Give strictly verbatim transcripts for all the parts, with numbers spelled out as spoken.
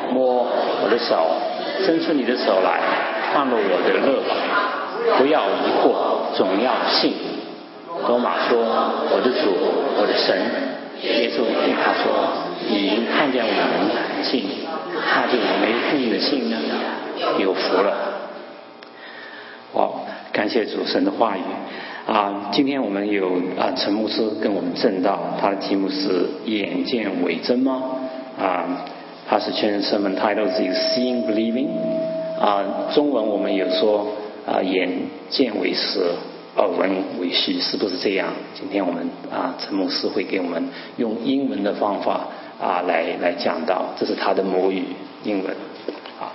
摸我的手，伸出你的手来，放入我的肋旁，不要疑惑，总要信。多马说：我的主，我的神。耶稣对他说：你已看见我们信，那就没信的信呢，有福了。哇，感谢主神的话语啊！今天我们有啊陈牧师跟我们证道，他的题目是眼见为真吗？啊，他是全sermon title is Seeing Believing 啊，中文我们有说啊眼见为实，耳闻为虚，是不是这样？今天我们啊陈牧师会给我们用英文的方法啊来来讲到，这是他的母语英文啊。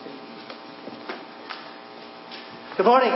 Good morning.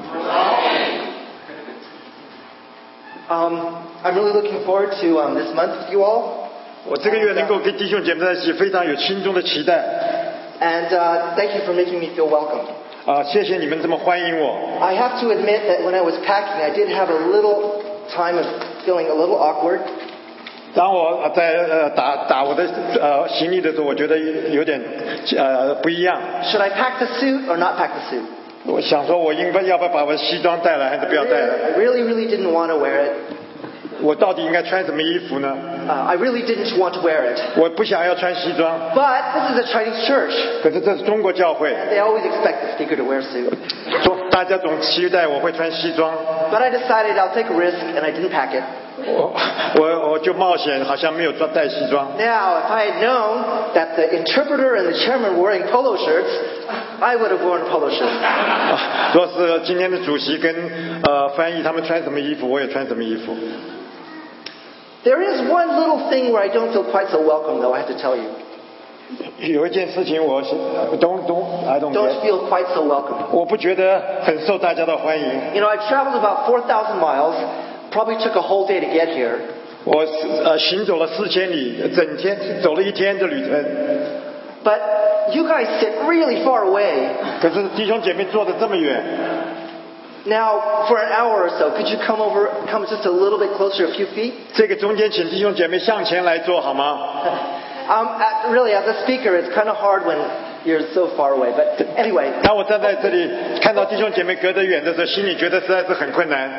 Um, I'm really looking forward to um, this month with you all. 我这个月能够跟弟兄姐妹在一起，非常有心中的期待。 And uh, thank you for making me feel welcome. 啊，谢谢你们这么欢迎我。 I have to admit that when I was packing, I did have a little time of feeling a little awkward. 当我在呃打打我的呃行李的时候，我觉得有点呃不一样。 Should I pack the suit or not pack the suit? 我想说，我应该要不要把我的西装带来，还是不要带来 I really, really didn't want to wear it. 我到底应该穿什么衣服呢？ Uh, I really didn't want to wear it. 我不想要穿西装。 But this is a Chinese church. 可是这是中国教会， And they always expect the speaker to wear a suit. 大家总期待我会穿西装。 But I decided I'll take a risk and I didn't pack it. 我我我就冒险，好像没有装带西装。 Now, if I had known that the interpreter and the chairman were wearing polo shirts, I would have worn a polo shirt. 若是今天的主席跟呃翻译他们穿什么衣服，我也穿什么衣服。 There is one little thing where I don't feel quite so welcome, though, I have to tell you. 有一件事情我是 don't don't I don't Don't get. feel quite so welcome. 我不觉得很受大家的欢迎。 You know, I've traveled about four thousand miles, probably took a whole day to get here. 我呃行走了四千里，整天走了一天的旅程。 But you guys sit really far away. 可是弟兄姐妹坐得这么远。 Now, for an hour or so, could you come over, come just a little bit closer, a few feet? 这个中间，请弟兄姐妹向前来坐好吗？ Um, at, really, as a speaker, it's kind of hard when you're so far away. But anyway. 当我站在这里，看到弟兄姐妹隔得远的时候，心里觉得实在是很困难。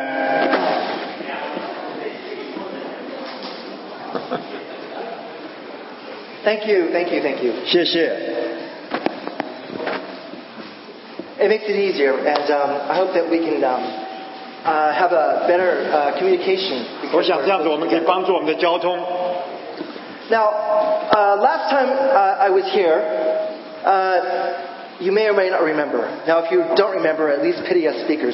Thank you, thank you, thank you. 谢谢。 It makes it easier, and um, I hope that we can um, uh, have a better uh, communication. 我想这样子，我们可以帮助我们的交通。 Now, uh, last time uh, I was here, uh, you may or may not remember. Now, if you don't remember, at least pity us speakers.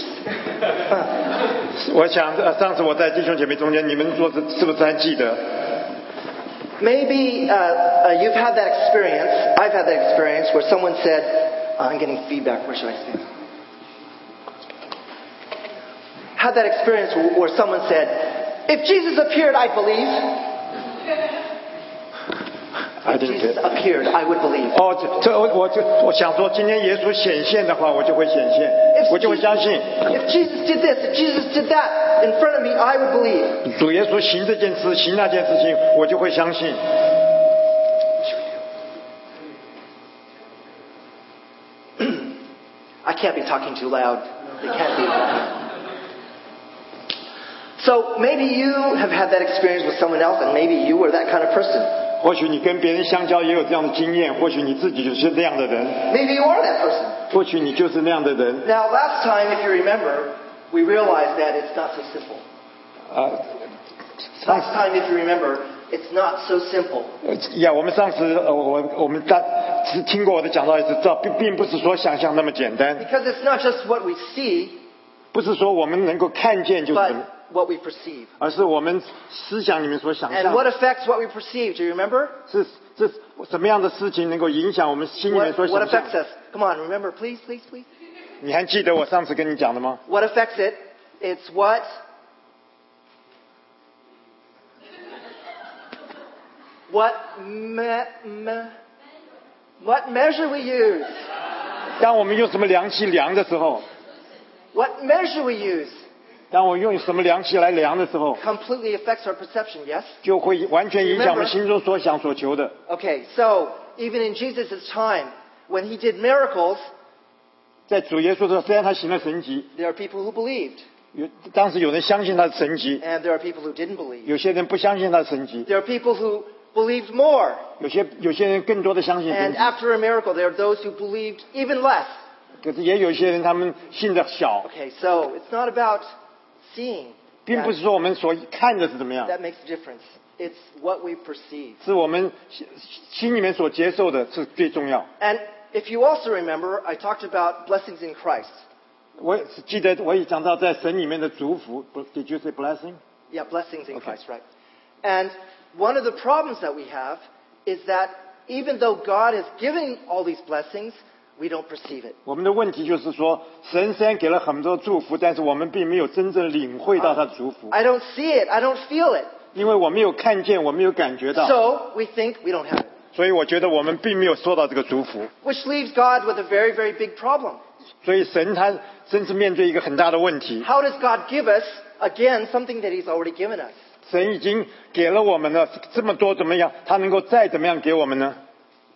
我想，呃，上次我在弟兄姐妹中间，你们说是是不是还记得？ Maybe uh, uh, you've had that experience. I've had that experience where someone said, uh, I'm getting feedback. Where should I stand? Had that experience where someone said, if Jesus appeared, I'd believe. If Jesus appeared, I would believe. 哦，这这我我就我想说，今天耶稣显现的话，我就会显现，我就会相信。 If Jesus did this, if Jesus did that in front of me, I would believe. 主耶稣行这件事，行那件事情，我就会相信。 I can't be talking too loud. It can't be. So maybe you have had that experience with someone else, and maybe you were that kind of person. 或许你跟别人相交也有这样的经验，或许你自己就是那样的人， Maybe you are that person. 或许你就是那样的人。 Now, last time, if you remember, we realized that it's not so simple. 啊， Last time, if you remember, it's not so simple. 呃呀，我们上次呃，我我们大是听过我的讲道，也是知道，并并不是说想象那么简单， Because it's not just what we see, 不是说我们能够看见就是 but what we perceive. 而是我们思想里面所想 And 象 what affects what we perceive? Do you remember? 是是什么样的事情能够影响我们心里面 What, 所 what 想 affects 象？ us? Come on, remember, please, please, please. 你还记得我上次跟你讲的吗？ What affects it? It's what? What me, me, what measure we use? 当我们用什么量器量的时候， What measure we use 当我用什么量器来量的时候， completely affects our perception, yes? 就会完全影响我们心中所想所求的。 Okay, so even in Jesus' time, when he did miracles, 在主耶稣的时候，虽然他行了神迹， there are people who believed, 有当时有人相信他的神迹， and there are people who didn't believe. 有些人不相信他的神迹， There are people who believed more, 有些有些人更多的相信神 and 迹， after a miracle, there are those who believed even less. 可是也有一些人他们信的小， Okay, so it's not about seeing 并不 that, 是说我们所看的是怎么样， that makes a difference. It's what we perceive. 是我们心心里面所接受的是最重要。 And if you also remember, I talked about blessings in Christ. 我记得我也讲到在神里面的祝福 ，Did you say blessing？ Yeah, blessings in Okay. Christ, right? And one of the problems that we have is that even though God is giving all these blessings, we don't perceive it. 我们的问题就是说，神虽然给了很多祝福，但是我们并没有真正领会到他的祝福， I don't see it. I don't feel it. 因为我没有看见，我没有感觉到， So we think we don't have it. 所以我觉得我们并没有受到这个祝福。 Which leaves God with a very, very big problem. 所以神他真是面对一个很大的问题。 How does God give us, again, something that He's already given us? 神已经给了我们了这么多，怎么样？他能够再怎么样给我们呢？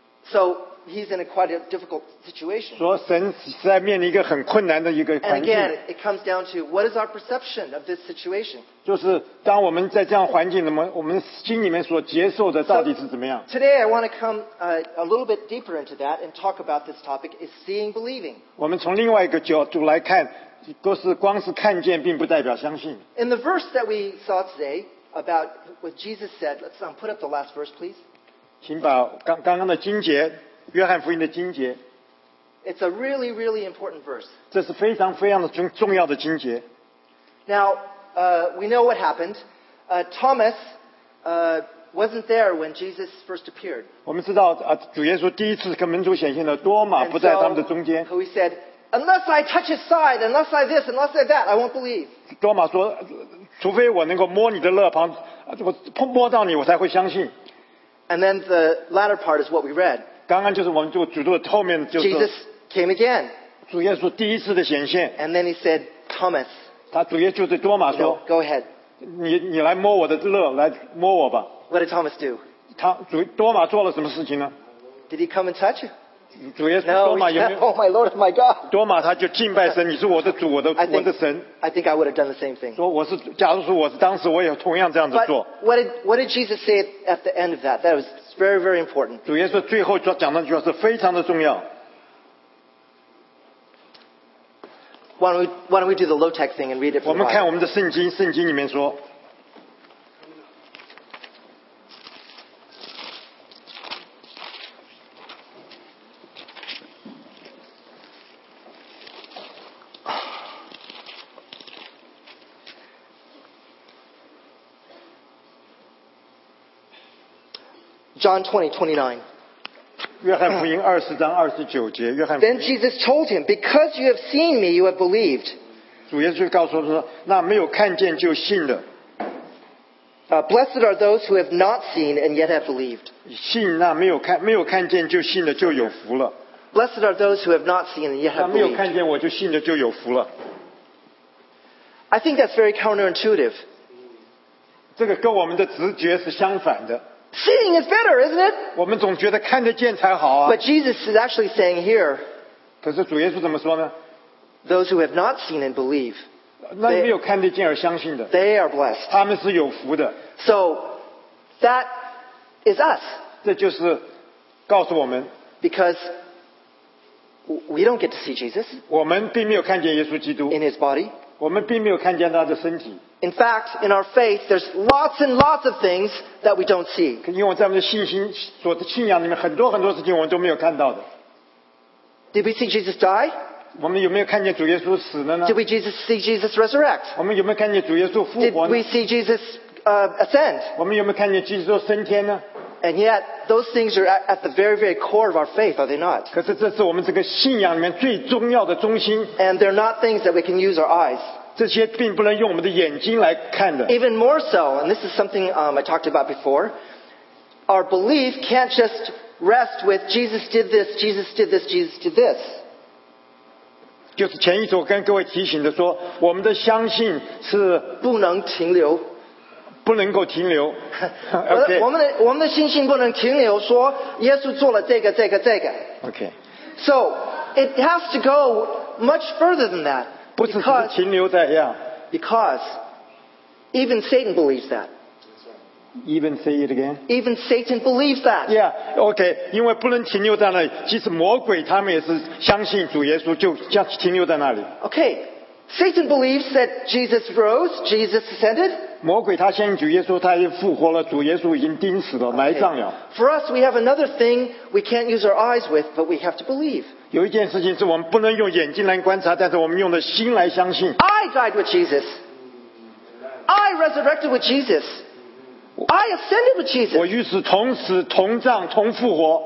So He's in a quite a difficult situation. 说神实在面临一个很困难的一个 And 环境， again, it comes down to what is our perception of this situation? 就是当我们在这样环境，那么我们心里面所接受的到底是怎么样？ Today I want to come uh, a little bit deeper into that and talk about this topic is seeing, believing. 我们从另外一个角度来看，都是光是看见，并不代表相信。 In the verse that we saw today about what Jesus said, let's um, put up the last verse, please. 请把刚刚刚的经节，约翰福音的经节， It's a really, really important verse. 这是非常非常的重重要的经节。 Now, uh, we know what happened. Uh, Thomas uh, wasn't there when Jesus first appeared. 我们知道啊，主耶稣第一次跟门徒显现的多马 And 不在他们的 so 中间。 he said, unless I touch his side, unless I this, unless I that, I won't believe. 多马说，除非我能够摸你的肋旁，我碰摸到你，我才会相信。 And then the latter part is what we read. 刚刚就是我们就主读的后面就是 Jesus came again. 主耶稣第一次的显现， And then he said, Thomas, 他主耶稣对多马 you know, 说 go ahead.：“ 你你来摸我的肋，来摸我吧。 What did Thomas do? ” 他主多马做了什么事情呢？ Did he come and touch you? 主耶稣 No. 多 he 马有没 said, 有？ oh my Lord, my God. 多马他就敬拜神，你是我的主，我的 I 我的 think, 神。 I think I would have done the same thing. 说我是，假如说我是当时我也同样这样子 But 做。 what did, what did Jesus say at the end of that? That was very, very important. 主耶稣最后说讲的那句话是非常的重要。 Why don't we, why don't we do the low-tech thing and read it 我 from 们 the 看我 Bible? 们的圣经，圣经里面说， John twenty, twenty-nine. 约翰福音二十章二十九节，约翰福 Then 音 Jesus told him, because you have seen me, you have believed. 主耶稣就告诉他说：“那没有看见就信的， Uh, blessed are those who have not seen and yet have believed. 信那没有看没有看见就信的就有福了。 Blessed are those who have not seen and yet 那 have 没有 believed. 看见我就信的就有福了。 I think that's very counterintuitive. 这个跟我们的直觉是相反的。 Seeing is better, isn't it? 我们总觉得看得见才好啊。 But Jesus is actually saying here, 可是主耶稣怎么说呢？ those who have not seen and believe, 那没有看得见而相信的， they are blessed. 他们是有福的。 So that is us 这就是告诉我们， because we don't get to see Jesus 我们并没有看见耶稣基督， in his body. 我们并没有看见他的身体。 In fact, in our faith, there's lots and lots of things that we don't see. 因为在我们的信心所的信仰里面，很多很多事情我们都没有看到的。 Did we see Jesus die? 我们有没有看见主耶稣死了呢？ Did we Jesus see Jesus resurrect? 我们有没有看见主耶稣复 Did 活呢 we？see Jesus uh, ascend? 我们有没有看见基督升天呢？ And yet, those things are at, at the very, very core of our faith, are they not? 可是这是我们这个信仰里面最重要的中心， And they're not things that we can use our eyes. 这些并不能用我们的眼睛来看的。 Even more so, and this is something um, I talked about before, our belief can't just rest with Jesus did this, Jesus did this, Jesus did this. 就是前一周跟各位提醒的说，我们的相信是不能停留。 不能够停留。 我的 OK 我们的我们的信心不能停留，说耶稣做了这个这个这个。 OK， So it has to go much further than that. 不是只是 Because, 停留在呀。 because even Satan believes that. Even say it again. Even Satan believes that. Yeah, OK， 因为不能停留在那里，即使魔鬼他们也是相信主耶稣，就将停留在那里。 Okay, Satan believes that Jesus rose, Jesus ascended. 魔鬼他相信主耶稣，他已经复活了，主耶稣已经钉死了，埋葬了。 For us, we have another thing we can't use our eyes with, but we have to believe. 有一件事情是我们不能用眼睛来观察，但是我们用的心来相信。 I died with Jesus. I resurrected with Jesus. I ascended with 我 Jesus. 与此同死、同葬、同复活，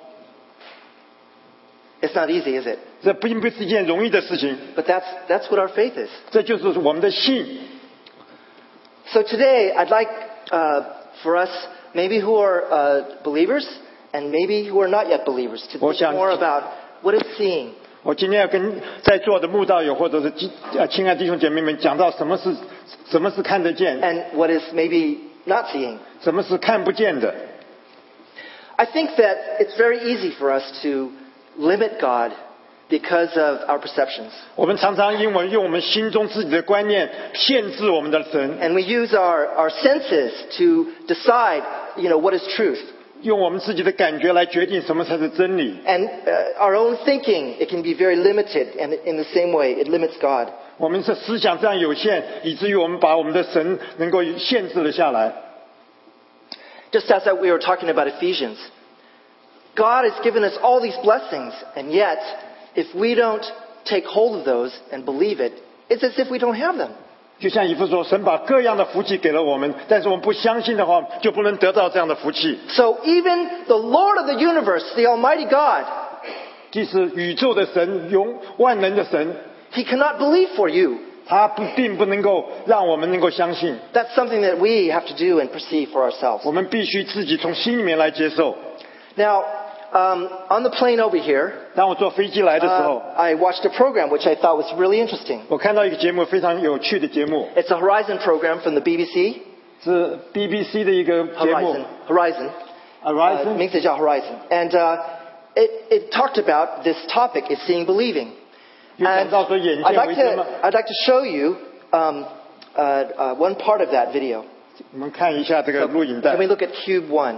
It's not easy, is it? 这并不是一件容易的事情。 But that's, that's what our faith is. 这就是我们的信。 So today, I'd like uh, for us, maybe who are uh, believers and maybe who are not yet believers, to think 我想- more about what is seeing. 我今天要跟在座的慕道友或者是亲呃亲爱的弟兄姐妹们讲到什么是什么是看得见， And what is maybe not seeing. 什么是看不见的。 I think that it's very easy for us to limit God because of our perceptions. 我们常常因为用我们心中自己的观念限制我们的神， And we use our, our senses to decide, you know, what is truth. 用我们自己的感觉来决定什么才是真理。 And uh, our own thinking, it can be very limited, and in the same way, it limits God. 我们是思想这样有限，以至于我们把我们的神能够限制了下来。 Just as we were talking about Ephesians, God has given us all these blessings, and yet, if we don't take hold of those and believe it, it's as if we don't have them. 就像以弗所说，神把各样的福气给了我们，但是我们不相信的话，就不能得到这样的福气。 So even the Lord of the universe, the Almighty God, 即使宇宙的神，永万能的神， He cannot believe for you. 他不并不能够让我们能够相信， That's something that we have to do and perceive for ourselves. 我们必须自己从心里面来接受。 Now, um, on the plane over here, 当我坐飞机来的时候， uh, I watched a program which I thought was really interesting. 我看到一个节目，非常有趣的节目， It's a Horizon program from the B B C. 是 B B C 的一个节目 Horizon. Horizon. Uh, Horizon， 名字叫 Horizon. And uh, it, it talked about this topic, is seeing believing. 有讲 And 到说眼 I'd 见 like 为真嘛。 to, I'd like to show you um, uh, uh, one part of that video. 我们看一下这个 So, 录影带 can。we look at Cube One?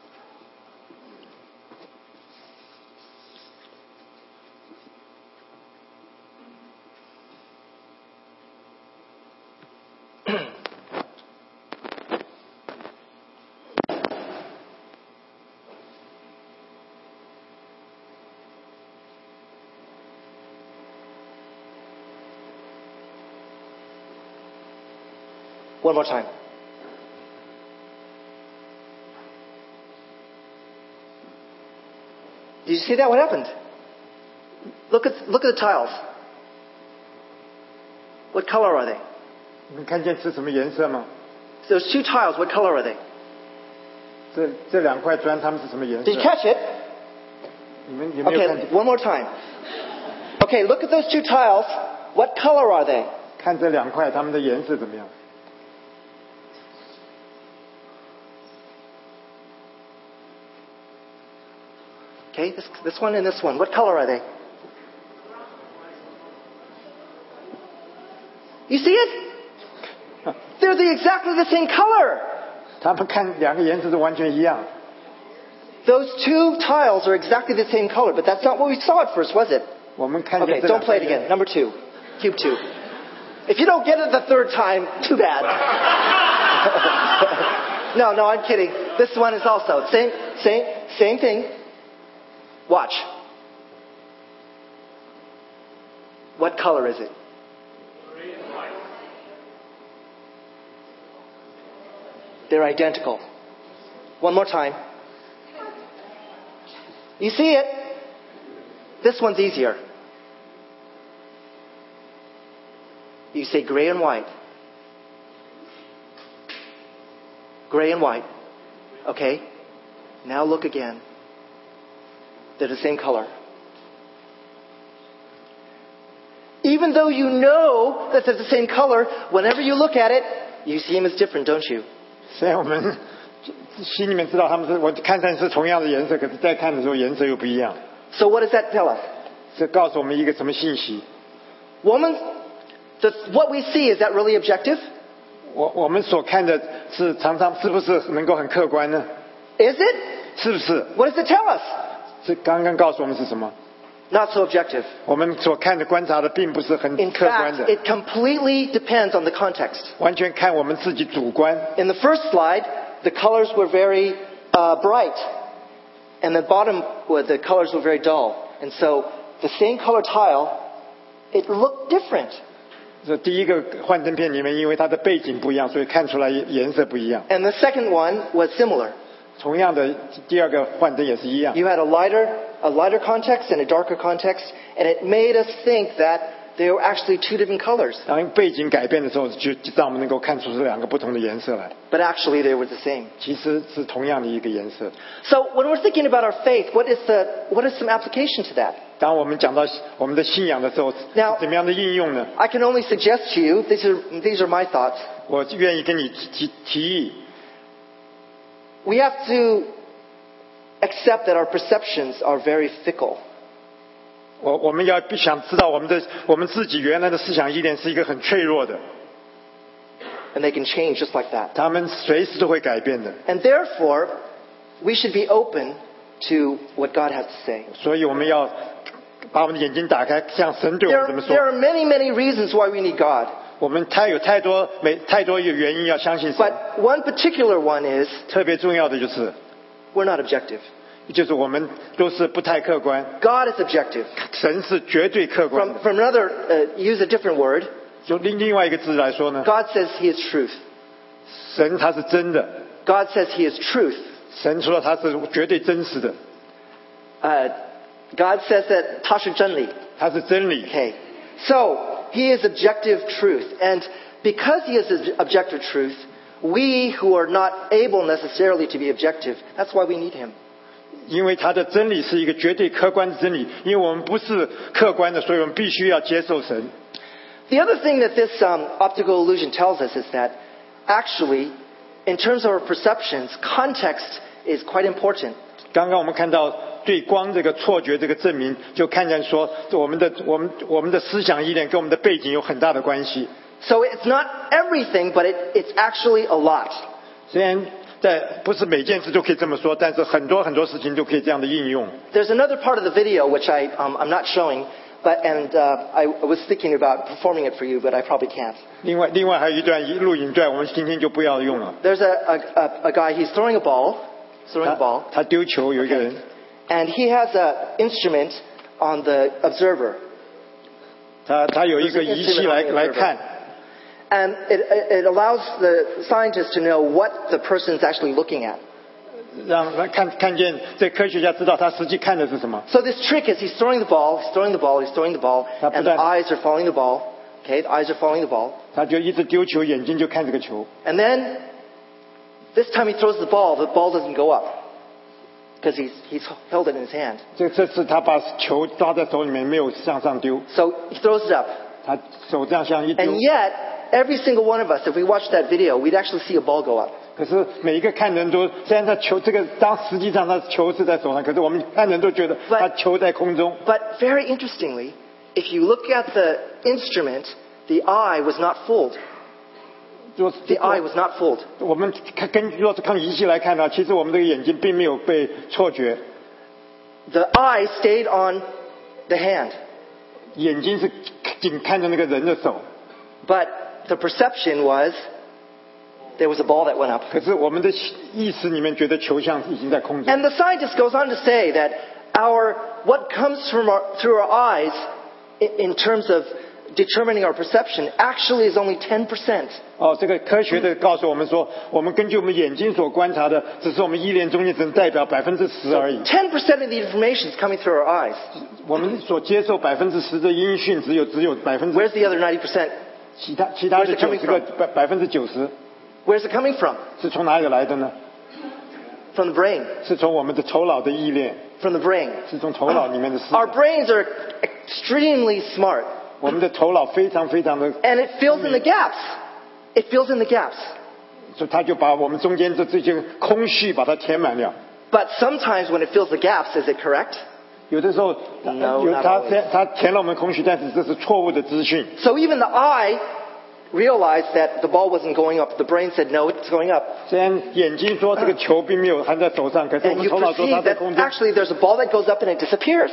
One more time. Did you see that? What happened? Look at, look at the tiles. What color are they? 你们看见是什么颜色吗？ Those two tiles, what color are they? 这这两块砖它们是什么颜 Did you 色？ catch it? 你们有没有看 Okay, 见？ one more time. Okay, look at those two tiles. What color are they? 看这两块它们的颜色怎么样？ Okay, this, this one and this one. What color are they? You see it? They're the, exactly the same color. 他们看两个颜色是完全一样。 Those two tiles are exactly the same color, but that's not what we saw at first, was it? 我们看见 Okay, 这 don't 两 play 块 it 颜 again. Number two. Cube two. If you don't get it the third time, too bad. no, no, I'm kidding. This one is also same, same, same thing. Watch. What color is it? They're identical. One more time. You see it? This one's easier. You say gray and white. Gray and white. Okay. Now look again. They're the same color. Even though you know that they're the same color, whenever you look at it, you see them as different, don't you? 虽然我们心里面知道他们是我看上是同样的颜色，可是再看的时候颜色又不一样。 So what does that tell us? 这告诉我们一个什么信息？ Woman, the, what we see, is that really objective? 我我们所看的是常常是不是能够很客观呢？ Is it? 是不是？ What does it tell us? 这刚刚告诉我们是什么？ Not so objective. 我们所看的观察的并不是很 In 客观 fact, 的， it completely depends on the context. 完全看我们自己主观。 In the first slide, the colors were very uh, bright, and the bottom, well, the colors were very dull. And so the same color tile, it looked different. 这第一个幻灯片里面，因为它的背景不一样，所以看出来颜色不一样。 And the second one was similar. 同样的，第二个幻灯也是一样。 You had a lighter, a lighter context and a darker context, and it made us think that they were actually two different colors. 当背景改变的时候，就就让我们能够看出是两个不同的颜色来。 But actually they were the same. 其实是同样的一个颜色。 So when we're thinking about our faith, what is the, what is some application to that? 当我们讲到我们的信仰的时候， Now- 怎么样的应用呢？ I can only suggest to you, these are, these are my thoughts. 我愿意跟你提提议， We have to accept that our perceptions are very fickle. 我我们要想知道我们的我们自己原来的思想依恋是一个很脆弱的， And they can change just like that. 他们随时都会改变的。 And therefore, we should be open to what God has to say. 所以我们要把我们的眼睛打开，像神对我 There, 们怎么 there 说。 are many, many reasons why we need God. 我们太有太多没太多有原因要相信神。 But one particular one is 特别重要的就是， we're not objective. 就是我们都是不太客观， God is objective. 神是绝对客观 From, 的。 from another, uh, use a different word, 就另另外一个字来说呢， God says He is truth. 神他是真的， God says He is truth. 神说他是绝对真实的， Uh, God says that 他是真理. 他是真理。 Okay. So, He is objective truth. And because He is objective truth, we who are not able necessarily to be objective, that's why we need Him. 因为他的真理是一个绝对客观的真理，因为我们不是客观的，所以我们必须要接受神。 The other thing that this um, optical illusion tells us is that actually, in terms of our perceptions, context is quite important. 刚刚我们看到对光这个错觉这个证明，就看见说我们的我们我们的思想依恋跟我们的背景有很大的关系。 So it's not everything, but it, it's actually a lot. 虽然在不是每件事都可以这么说，但是很多很多事情都可以这样的应用。 There's another part of the video which I, um, I'm not showing, but, and uh, I was thinking about performing it for you, but I probably can't. 另外另外还有一段录影带，我们今天就不要用了。 There's a, a, a, a guy, he's throwing a ball, throwing a 他 ball, 他丢球，有一个人， and he has an instrument on the observer. 他他有一个仪器来来看， And it, it allows the scientist to know what the person is actually looking at. 让他看看见这科学家知道他实际看的是什么。 So this trick is he's throwing the ball, he's throwing the ball, he's throwing the ball, and the 他不但- eyes are following the ball. Okay, the eyes are following the ball. 他就一直丢球，眼睛就看这个球。 And then, this time he throws the ball, the ball doesn't go up. Because he's, he's held it in his hand. 这这次他把球抓在手里面，没有向上丢， So he throws it up. 他手这样向一丢。 And yet, every single one of us, if we watched that video, we'd actually see a ball go up. 可是每一个看人都，虽然他球这个当实际上他球是在手上，可是我们看人都觉得 But- 他球在空中。 But very interestingly, if you look at the instrument, the eye was not fooled. 就 The eye was not fooled. 我们看根据若是看仪器来看呢，其实我们这个眼睛并没有被错觉， The eye stayed on the hand. 眼睛是紧看着那个人的手， But the perception was there was a ball that went up. 可是我们的意识里面觉得球像已经在空中。 And the scientist goes on to say that our what comes from our, through our eyes in, in terms of determining our perception actually is only ten percent. 哦，这个科学的告诉我们说，我们根据我们眼睛所观察的，只是我们依恋中间只能代表百分之十而已。 ten percent of the information is coming through our eyes. 我们所接受百分之十的音讯，只有只有百分之 Where's the other ninety percent? 其他其他的 Where's it 九 coming 十个 from? 百百分之九十 Where's it coming from? 是从哪里来的呢？ From the brain. 是从我们的头脑的依恋， From the brain. 是从头脑里面的思 Our 想。 brains are extremely smart. 我们的头脑非常非常的， And it fills in the gaps. It fills in the gaps. 所以他就把我们中间这这些空虚把它填满了。 But sometimes when it fills the gaps, is it correct? 有的时候 No, 有 not 他 always. 他填了我们空虚，但是这是错误的资讯。 So even the eye realized that the ball wasn't going up. The brain said, no, it's going up. 虽然眼睛说这个球并没有含在手上，可是我 And 们 you 头脑说它 perceive 在 that 空中。 actually there's a ball that goes up and it disappears.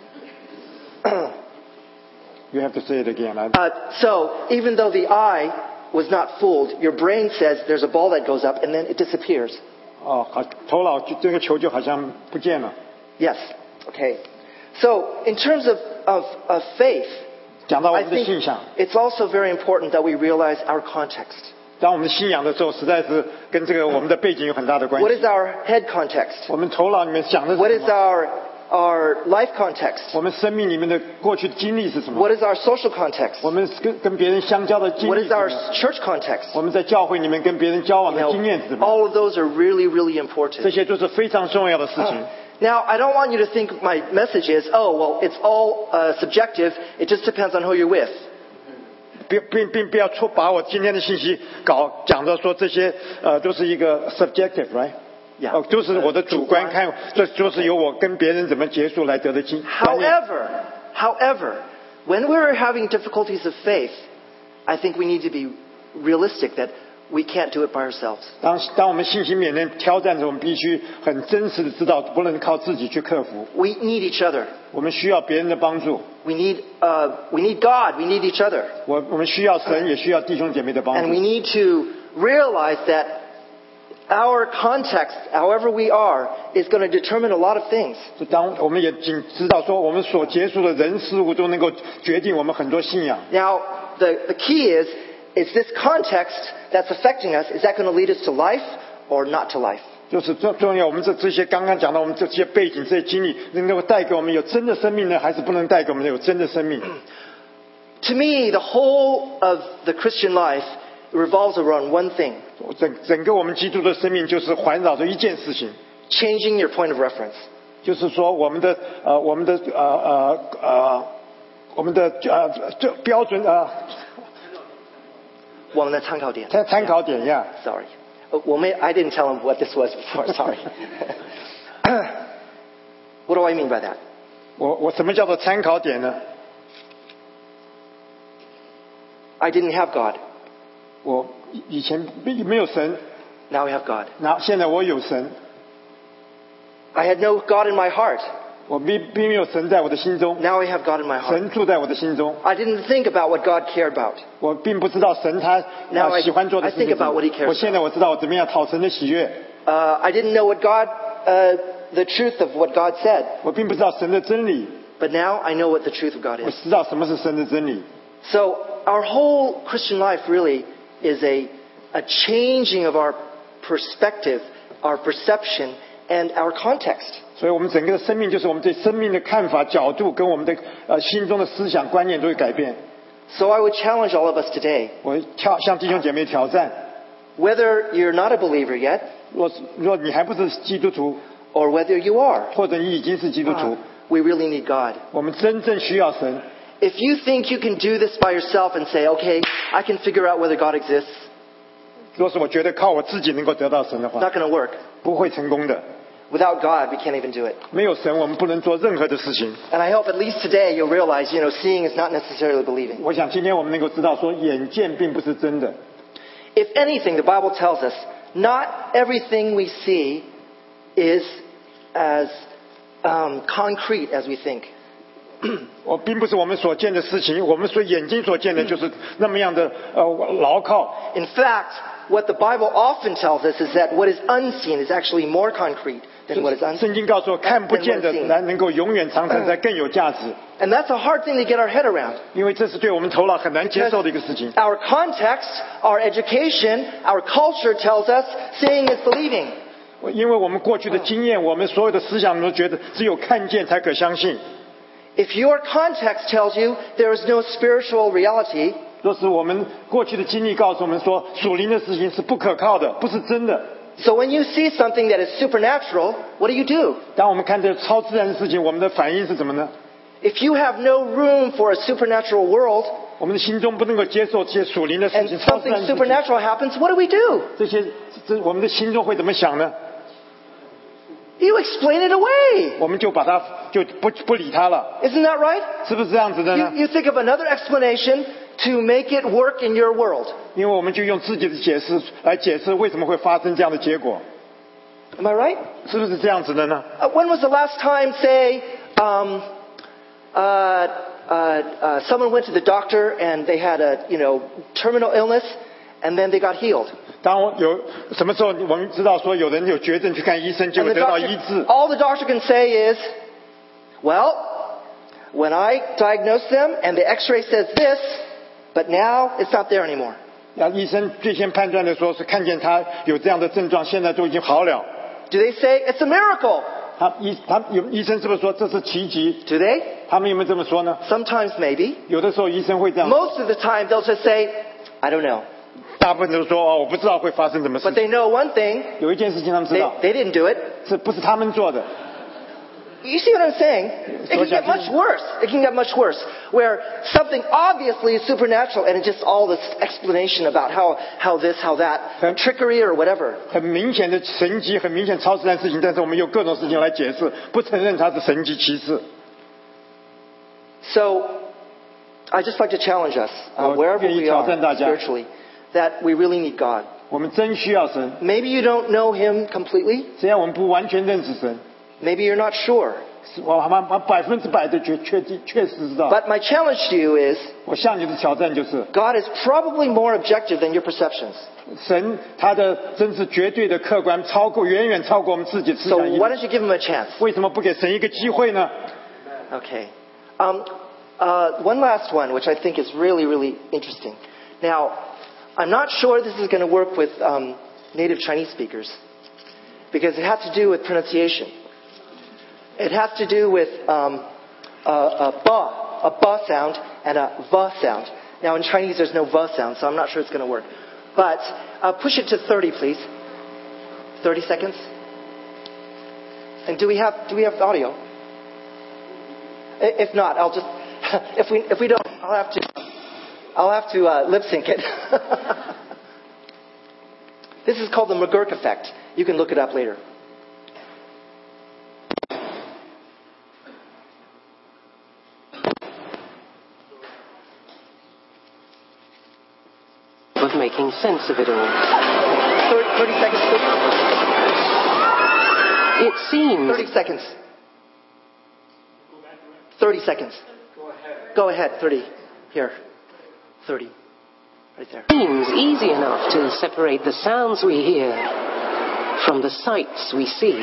You have to say it again. I- Uh, so even though the eye was not fooled, your brain says there's a ball that goes up and then it disappears. 哦，好，头脑就这个球就好像不见了。 Yes. Okay. So in terms of, of, of faith, 讲到我 I 们的 think 信仰， it's also very important that we realize our context. 当我们信仰的时候，实在是跟这个我们的背景有很大的关 What 系。 is our head context? 我们头脑里面想的是 What 什 is 么？ our, our life context? 我们生命里面的过去的经历是什么？ What is our social context? 我们跟跟别人相交的经 What 历 is 是什 our 么？ church context? 我们在教会里面跟别人交往 You 的 know, 经验是什么？ all of those are really, really 这 important. 些都是非常重要的事情。 Now, I don't want you to think my message is, oh, well, it's all uh, subjective. It just depends on who you're with. 并并并不要错把我今天的信息搞讲的说这些呃都是一个 subjective，right？ Yeah. 哦，都是我的主观看，这就是由我跟别人怎么结束来得的经。观念 However, however, when we're having difficulties of faith, I think we need to be realistic that we can't do it by ourselves. 当当我们信心面临挑战的时候，我们必须很真实的知道，不能靠自己去克服， We need each other. 我们需要别人的帮助。 We need, uh, we need God. We need each other. 我我们需要神，也需要弟兄姐妹的帮 And we 助。 need to realize that our context, however we are, is going to determine a lot of things. 就当我们也仅知道说，我们所接触的人事物都能够决定我们很多信仰。 Now, the, the key is, is this context that's affecting us, is that going to lead us to life or not to life? 就是重重要，我们这这些刚刚讲到我们这些背景、这些经历，能够带给我们有真的生命呢，还是不能带给我们有真的生命？ To me, the whole of the Christian life revolves around one thing, 整整个我们基督的生命就是环绕着一件事情， changing your point of reference. 就是说我们的呃我们的呃呃呃我们的呃这标准啊、 我们的参考点。 参参考点呀。 Sorry. Uh, well, may, I didn't tell him what this was before. Sorry. What do I mean by that? 我我什么叫做参考点呢？ I didn't have God. 我以以前没没有神， Now we have God. 那现在我有神， I had no God in my heart. 我并并没有神在我的心中， Now I have God in my heart. 神住在我的心中。 I didn't think about what God cared about. 我并不知道神他 Now 呃 I- 喜欢做的 I 事情 think about what he 是 cares 什么。我现在我知道我怎么样讨神的喜悦。 Uh, I didn't know what God, uh, the truth of what God said. 我并不知道神的真理， But now I know what the truth of God 我 is. 知道什么是神的真理。 So our whole Christian life really is a, a changing of our perspective, our perception, and our context. 所以我们整个的生命就是我们对生命的看法、角度跟我们的呃心中的思想观念都会改变。 So I would challenge all of us today, 我挑向弟兄姐妹挑战， whether you're not a believer yet, 若是若你还不是基督徒， or whether you are, 或者你已经是基督徒， we really need God. 我们真正需要神。 If you think you can do this by yourself and say, okay, I can figure out whether God exists, 若是我觉得靠我自己能够得到神的 it's 话， not going to work. 不会成功的。 Without God, we can't even do it. 没有神，我们不能做任何的事情。 And I hope at least today you'll realize, you know, seeing is not necessarily believing. 我想今天我们能够知道，说眼见并不是真的。 If anything, the Bible tells us, not everything we see is as um, concrete as we think. 我并不是我们所见的事情，我们所眼睛所见的就是那么样的呃牢靠。 In fact, what the Bible often tells us is that what is unseen is actually more concrete than what is 圣 unseen. 经告诉我，看不见的才能够永远长存，才更有价值。 And that's a hard thing to get our head around. 因为这是对我们头脑很难接受的一个事情。 Our context, our education, our culture tells us seeing is believing. 因为我们过去的经验，我们所有的思想都觉得只有看见才可相信。 If your context tells you there is no spiritual reality, 若是我们过去的经历告诉我们说，属灵的事情是不可靠的，不是真的。 so when you see something that is supernatural, what do you do? 当我们看这超自然的事情，我们的反应是什么呢？ If you have no room for a supernatural world, 我们的心中不能够接受这些属灵的事 and 情，超自然 something 的事情， supernatural happens, what do we do? 这些这我们的心中会怎么想呢？ You explain it away. 我们就把它就不不理它了， Isn't that right? 是不是这样子的 You, 呢？ you think of another explanation to make it work in your world. 因为我们就用自己的解释来解释为什么会发生这样的结果， Am I right? 是不是这样子的呢？ Uh, when was the last time, say, um, uh, uh, uh, someone went to the doctor and they had a, you know, terminal illness, and then they got healed? 当我有什么时候我们知道说有人有绝症去看医生，结 And 果 the 得到 doctor, 医治， all the doctor can say is, well, when I diagnosed them and the x-ray says this, but now it's not there anymore. 那医生最先判断的说是看见他有这样的症状，现在都已经好了。 Do they say it's a miracle? 他医他有医生是不是说这是奇迹？ Do they? 他们有没有这么说呢？ Sometimes maybe. 有的时候医生会这样， Most of the time they'll just say, I don't know. 大部分都说哦，我不知道会发生什么事 But 情。 they know one thing, 有一件事情他们知 they, 道， they didn't do it. 是不是他们做的？ You see what I'm saying? It can get much worse. It can get much worse. Where something obviously is supernatural and it's just all this explanation about how, how this, how that, trickery or whatever. 很明显的神迹，很明显超自然事情，但是我们用各种事情来解释，不承认它是神迹奇事。 So, I just like to challenge us, uh, 我 wherever 愿意 we 挑 are 战大家， spiritually, that we really need God. 我们真需要神。 Maybe you don't know Him completely. 虽然我们不完全认识神， Maybe you're not sure. 是我还蛮百分之百的确确定确实知道。 But my challenge to you is, 我向你的挑战就是， God is probably more objective than your perceptions. 神他的真是绝对的客观，超过远远超过我们自己思 So 想意 why 识。 don't you give Him a chance? 为什么不给神一个机会呢？ Okay. Um, uh, one last one, which I think is really, really interesting. Now, I'm not sure this is going to work with um, native Chinese speakers because it has to do with pronunciation. It has to do with um, a, a ba, a ba sound and a va sound. Now, in Chinese, there's no va sound, so I'm not sure it's going to work. But uh, push it to thirty, please. thirty seconds. And do we have do we have audio? If not, I'll just if we if we don't, I'll have to I'll have to uh, lip sync it. This is called the McGurk effect. You can look it up later. Of making sense of it all. thirty, thirty seconds, please. It seems thirty seconds. thirty seconds. Go ahead. Go ahead, thirty. Here. thirty. Right there. seems easy enough to separate the sounds we hear from the sights we see.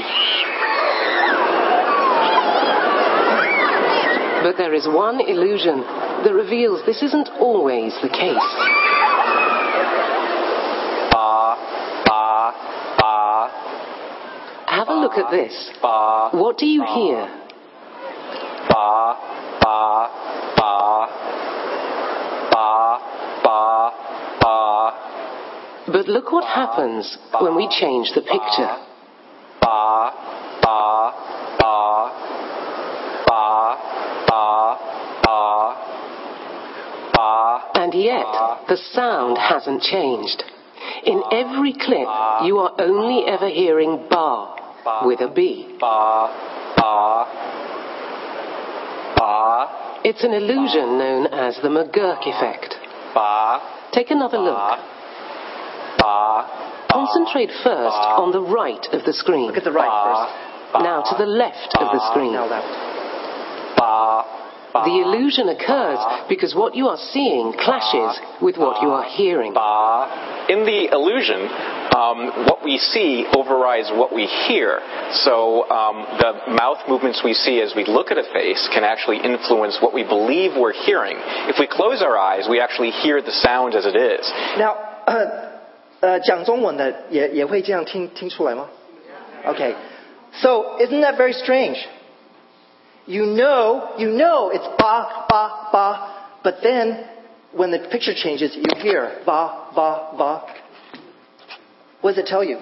But there is one illusion that reveals this isn't always the case. Ba, ba, ba. Have a look at this. Ba, What do you hear? ba, ba, ba. Ba, ba, ba. But look what happens when we change the picture. Ba, ba, ba. Ba, ba, ba. Ba. And yet, the sound hasn't changed. In every clip, you are only ever hearing ba with a B. Ba, ba. Ba, It's an illusion known as the McGurk effect. ba. Take another look. Ba. Concentrate first on the right of the screen. Look at the right first. Now to the left of the screen. Now left. Ba. The illusion occurs because what you are seeing clashes with what you are hearing. Ba. In the illusion, um, what we see overrides what we hear. So um, the mouth movements we see as we look at a face can actually influence what we believe we're hearing. If we close our eyes, we actually hear the sound as it is. Now, 呃，讲中文的也也会这样听听出来吗 Okay. So, isn't that very strange? You know, you know it's ba, ba, ba, but then when the picture changes, you hear ba, ba, ba. What does it tell you?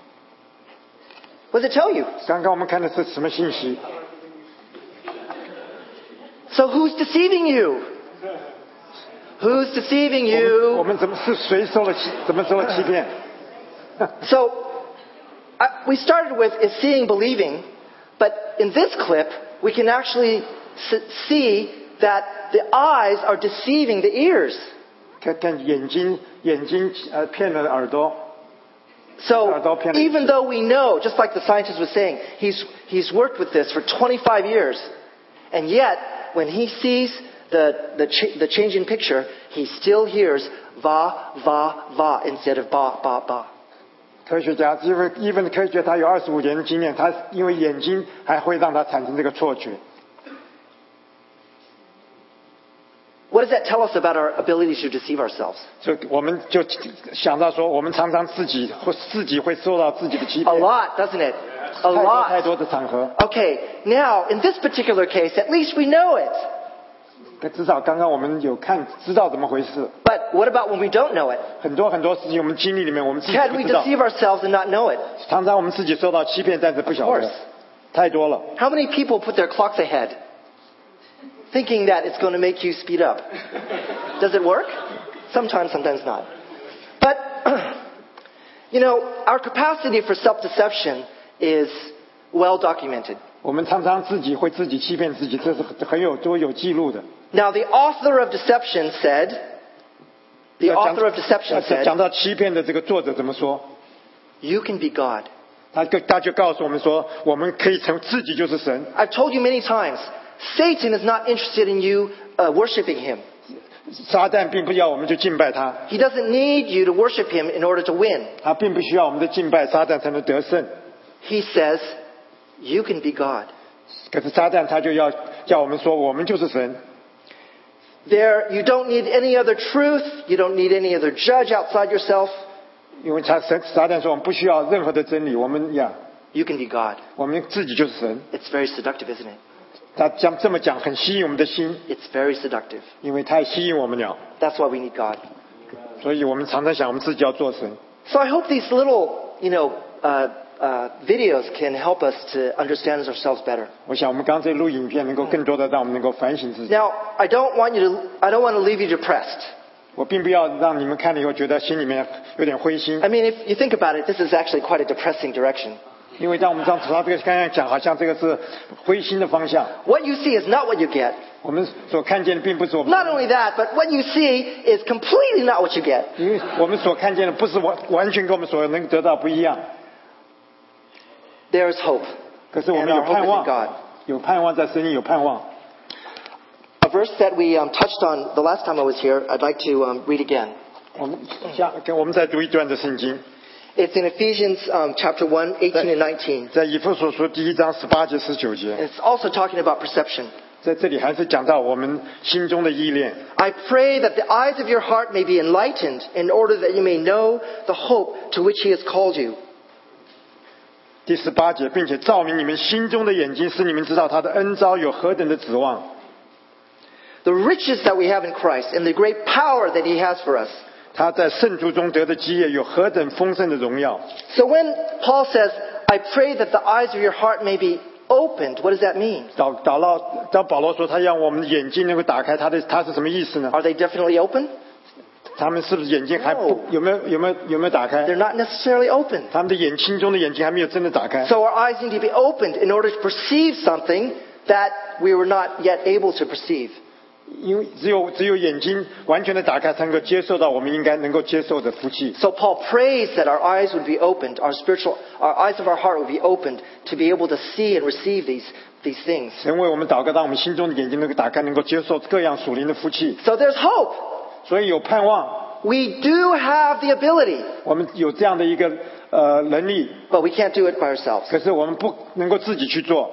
What does it tell you? 刚刚我们看的是什么信息？ So who's deceiving you? Who's deceiving 我们我 you? 们怎么是谁受了欺怎么受了欺骗？ So I, we started with is seeing, believing, but in this clip we can actually s- see that the eyes are deceiving the ears. 看看眼睛眼睛呃骗了耳朵。 So even though we know, just like the scientist was saying, he's, he's worked with this for twenty-five years, and yet when he sees the, the, ch- the changing picture, he still hears va, va, va instead of ba, ba, ba. 科学家因为因为科学他有二十五年的经验，他因为眼睛还会让他产生这个错觉。 What does that tell us about our ability to deceive ourselves? 所以我们就想到说，我们常常自己或自己会受到自己的欺 A 骗， lot, doesn't it? A 太多太 lot. 多的场合。 Okay, now in this particular case, at least we know it. 可至少刚刚我们有看知道怎么回事。 But what about when we don't know it? 很多很多事情我们经历里面，我们自己 Can 不 we 知道。 deceive ourselves and not know it? 常常我们自己受到欺骗，但是不晓 Of 得 course.， 太多了。 How many people put their clocks ahead, thinking that it's going to make you speed up? Does it work? Sometimes, sometimes not. But, you know, our capacity for self-deception is well documented. 我们常常自己会自己欺骗自己，这是很有都有记录的。 Now, the author of deception said, the 要讲 author of deception 要 said, 讲到欺骗的这个作者怎么说？ you can be God. 他就他就告诉我们说，我们可以成自己就是神。 I've told you many times, Satan is not interested in you uh, worshiping him. 撒旦并不要我们去敬拜他， He doesn't need you to worship him in order to win. 他并不需要我们的敬拜，撒旦才能得胜。 He says, you can be God. 可是撒旦他就要叫我们说，我们就是神。 There, you don't need any other truth. You don't need any other judge outside yourself. 因为他神撒旦说，我们不需要任何的真理，我们呀， You can be God. 我们自己就是神。 It's very seductive, isn't it? 他将这么讲，很吸引我们的心， It's very seductive. 因为太吸引我们了， That's why we need God. 所以我们常常想，我们自己要做神。 So I hope these little, you know, uh, uh, videos can help us to understand ourselves better. 我想我们刚才录影片，能够更多的让我们能够反省自己。 Now, I don't want you to, I don't want to leave you depressed. 我并不要让你们看了以后觉得心里面有点灰心， I mean, if you think about it, this is actually quite a depressing direction. 因为当我们当他这个刚刚讲，好像这个是灰心的方向。 What you see is not what you get. 我们所看见的并不是我们， Not only that, but what you see is completely not what you get. 因为我们所看见的不是完完全跟我们所能得到不一样。 There is hope. 可是我 And 们有 our hope 盼 is in 望 God.， 有盼望在神里有盼望。 A verse that we um, touched on the last time I was here, I'd like to um, read again. 我们下跟我们再读一段的圣经， It's in Ephesians um, chapter one, eighteen and nineteen. 在以弗所书第一章十八节十九 And 节， it's also talking about perception. 在这里还是讲到我们心中的依恋。 I pray that the eyes of your heart may be enlightened in order that you may know the hope to which he has called you. 第十八节，并且照明你们心中的眼睛，使你们知道他的恩召有何等的指望。 The riches that we have in Christ and the great power that he has for us. 他在圣徒中得的基业有何等丰盛的荣耀。 So when Paul says, I pray that the eyes of your heart may be opened, what does that mean? 祷祷到当保罗说他让我们的眼睛能够打开，他的他是什么意思呢？ Are they definitely open? 他们是不是眼睛还不 No. 有没有有没有有没有打开 They're？not necessarily open. 他们的眼心中的眼睛还没有真的打开。 So our eyes need to be opened in order to perceive something that we were not yet able to perceive. 因为只有只有眼睛完全的打开，才能够接受到我们应该能够接受的福气。 So Paul prays that our eyes would be opened, our spiritual, our eyes of our heart would be opened to be able to see and receive these, these things. 神为我们祷告，让我们心中的眼睛能够打开，能够接受各样属灵的福气。 So there's hope. 所以有盼望， We do have the ability, 我们有这样的一个呃能力， but we can't do it by ourselves. 可是我们不能够自己去做。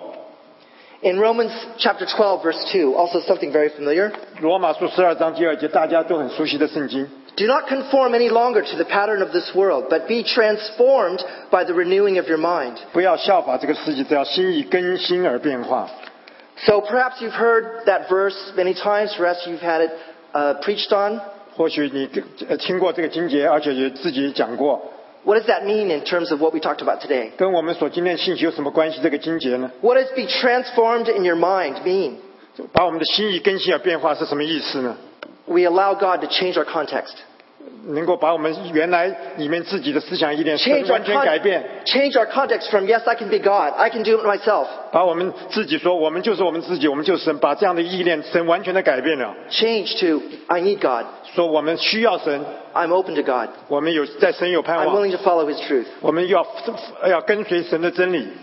In Romans chapter twelve, verse two, also something very familiar. 罗马书十二章第二节，大家都很熟悉的圣经。 Do not conform any longer to the pattern of this world, but be transformed by the renewing of your mind. 不要效法这个世界，只要心意更新而变化。 So perhaps you've heard that verse many times, perhaps you've had it uh, preached on. 或许你呃听过这个经节，而且也自己讲过。 What does that mean in terms of what we talked about today? 跟我们所今天信息有什么关系？这个经节呢？ What does be transformed in your mind mean? 把我们的心意更新而变化是什么意思呢？ We allow God to change our context. 能够把我们原来里面自己的思想意念 Change our, 完全改 con- 变， change our context from, yes, I can be God. I can do it myself. 把我们自己说我们就是我们自己，我们就是神，把这样的意念神完全的改变了， Change to, I need God. 说我们需要神， I'm open to God. 我们有在神有盼 I'm 望， willing to follow His truth. 我们要要跟随神的真理。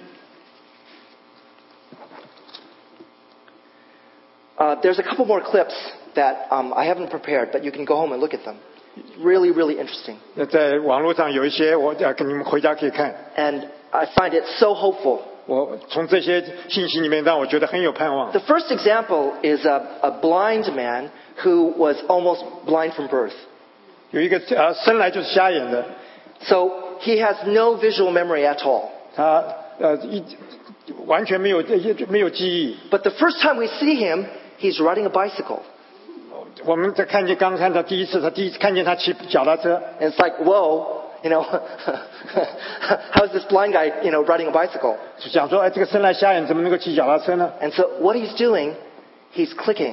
Uh, there's a couple more clips that um, I haven't prepared, but you can go home and look at them. Really, really interesting. 那在网络上有一些，我要跟你们回家可以看。 And I find it so hopeful. 我从这些信息里面让我觉得很有盼望。 The first example is a, a blind man who was almost blind from birth. 有一个呃生来就是瞎眼的， So he has no visual memory at all. 他呃一完全没有没有记忆。 But the first time we see him, he's riding a bicycle. 我们在看见刚看到第一次，他第一次看见他骑脚踏车， And it's like, whoa, you know, how is this blind guy, you know, riding a bicycle? 就想说，哎，这个生来瞎眼怎么能够骑脚踏车呢？ And so what he's doing, he's clicking.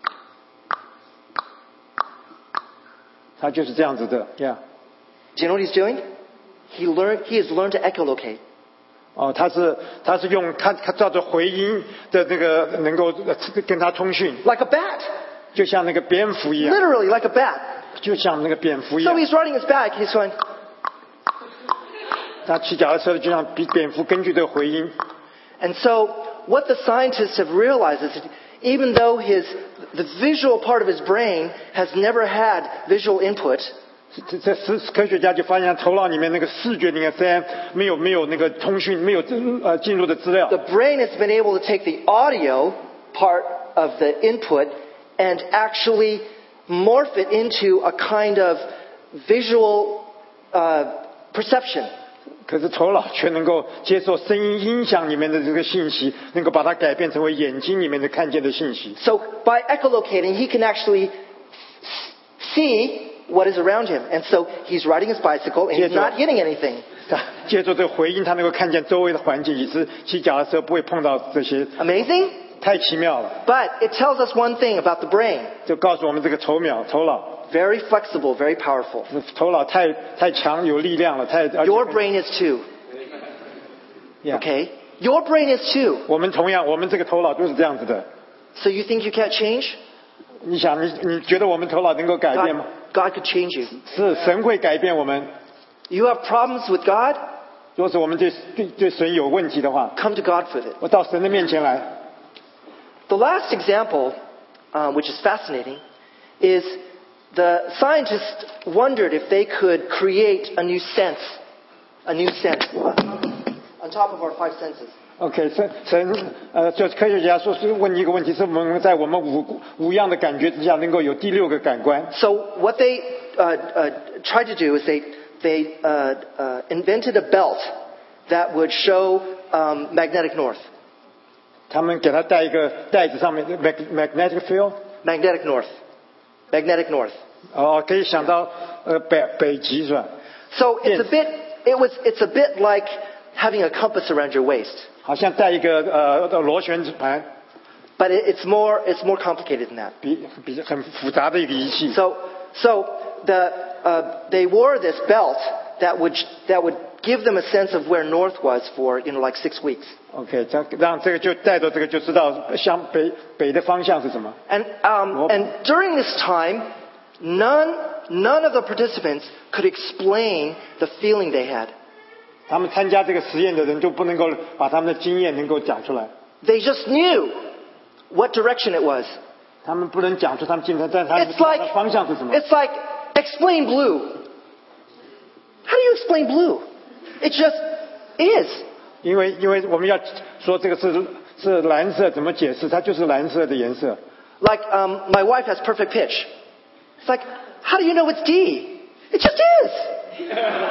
他就是这样子的呀。 Do you know what he's doing? He learned, he has learned to echolocate. 哦，他是他是用他他照着回音的那个能够呃跟他通讯， Like a bat. 就像那个蝙蝠一样， Literally like a bat. 就像那个蝙蝠一 So 样。 he's riding his bike, he's going, 他骑脚踏车就像比蝙蝠根据这个回音。 and so what the scientists have realized is that even though his, the visual part of his brain has never had visual input, 这这是科学家就发现头脑里面那个视觉里面虽然没有没有那个通讯没有呃进入的资料 the，brain has been able to take the audio part of the input and actually morph it into a kind of visual uh, perception. 可是头脑却能够接受声音音响里面的这个信息，能够把它改变成为眼睛里面的看见的信息。 So by echolocating, he can actually see what is around him. And so he's riding his bicycle and he's not hitting anything. 借助这个回音，他能够看见周围的环境，以致骑脚踏车不会碰到这些， Amazing? 太奇妙了。 But it tells us one thing about the brain. 就告诉我们这个头脑，头脑， Very flexible, very powerful. 头脑太太强，有力量了，太。 Your brain is too. Yeah. Okay? Your brain is too. 我们同样，我们这个头脑都是这样子的。 So you think you can't change? 你想，你你觉得我们头脑能够改变吗？ God, God could change you. 是神会改变我们。 You have problems with God? 若是我们对对对神有问题的话， Come to God with it. 我到神的面前来。 The last example, uh, which is fascinating, is the scientists wondered if they could create a new sense, a new sense, on top of our five senses. OK， 神神呃，就是科学家说是问一个问题，是我们在我们五五样的感觉之下，能够有第六个感官。 So what they uh, uh, tried to do is they they uh, uh, invented a belt that would show um, magnetic north. 他们给他带一个袋子，上面 magnetic field， Magnetic north. Magnetic north. 哦，可以想到呃北北极是吧？ So it's a Yes. bit. It was. It's a bit like having a compass around your waist, 好像带一个呃螺旋盘， but it, it's more. It's more complicated than that. 比比很复杂的一个仪器。 So so the uh, they wore this belt that would that would give them a sense of where north was for you know like six weeks. OK， 这样让这个就带着这个就知道向北北的方向是什么。 And um, and during this time, none none of the participants could explain the feeling they had. 他们参加这个实验的人都不能够把他们的经验能够讲出来， They just knew what direction it was. 他们不能讲出他们今天在他们 It's like 的方向是什么。 it's like explain blue. How do you explain blue? It just is. 因为因为我们要说这个是是蓝色，怎么解释？它就是蓝色的颜色。 Like um, my wife has perfect pitch. It's like, how do you know it's D? It just is.